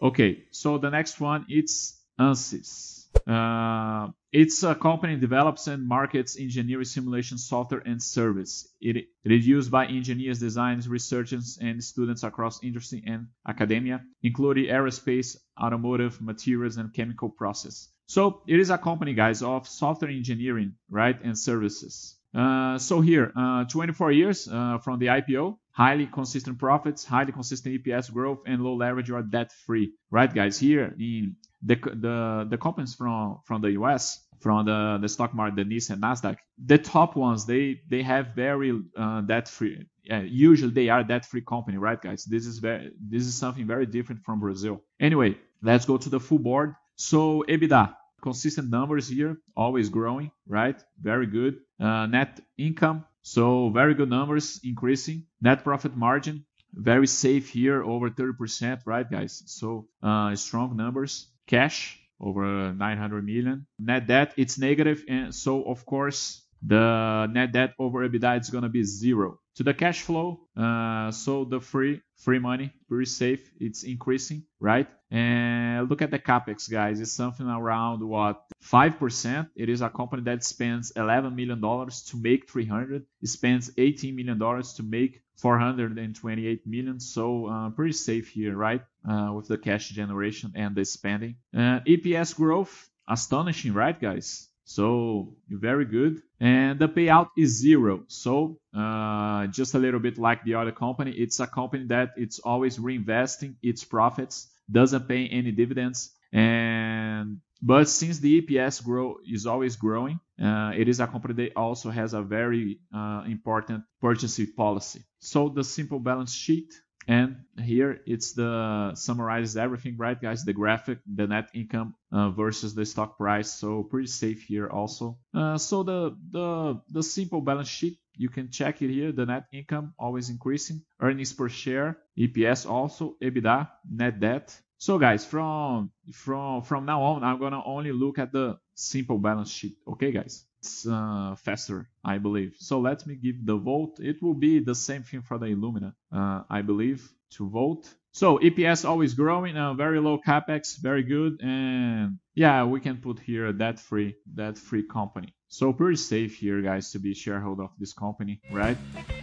Okay, so the next one, it's Ansys. It's a company that develops and markets engineering simulation software and service. It is used by engineers, designers, researchers, and students across industry and academia, including aerospace, automotive, materials, and chemical process. So it is a company, guys, of software engineering, right, and services. So here, 24 years from the IPO, highly consistent profits, highly consistent EPS growth, and low leverage or debt-free, right, guys? Here, in the companies from the US, from the stock market, the NYSE and Nasdaq, the top ones they have very debt-free. Usually they are debt-free company, right, guys? This is something very different from Brazil. Anyway, let's go to the full board. So EBITDA. Consistent numbers here, always growing, right? Very good. Net income, so very good numbers, increasing. Net profit margin, very safe here, over 30%, right, guys? So strong numbers. Cash, over 900 million. Net debt, it's negative, and so of course the net debt over EBITDA is gonna be 0. To the cash flow, so the free money, very safe, it's increasing, right? And look at the capex, guys. It's something around what, 5%. It is a company that spends $11 million to make 300. It spends $18 million to make 428 million. So pretty safe here, right? With the cash generation and the spending. EPS growth, astonishing, right, guys? So very good. And the payout is 0. So just a little bit like the other company, it's a company that it's always reinvesting its profits, doesn't pay any dividends. But since the EPS is always growing, it is a company that also has a very important purchasing policy. So the simple balance sheet. And here it's the summarizes everything, right, guys? The graphic, the net income versus the stock price. So pretty safe here also. So the simple balance sheet, you can check it here. The net income always increasing. Earnings per share, EPS also, EBITDA, net debt. So guys, from now on, I'm gonna only look at the simple balance sheet. Okay, guys? It's faster, I believe. So let me give the vote. It will be the same thing for the Illumina, I believe, to vote. So EPS always growing, very low capex, very good, and yeah, we can put here a debt-free company. So pretty safe here, guys, to be a shareholder of this company, right?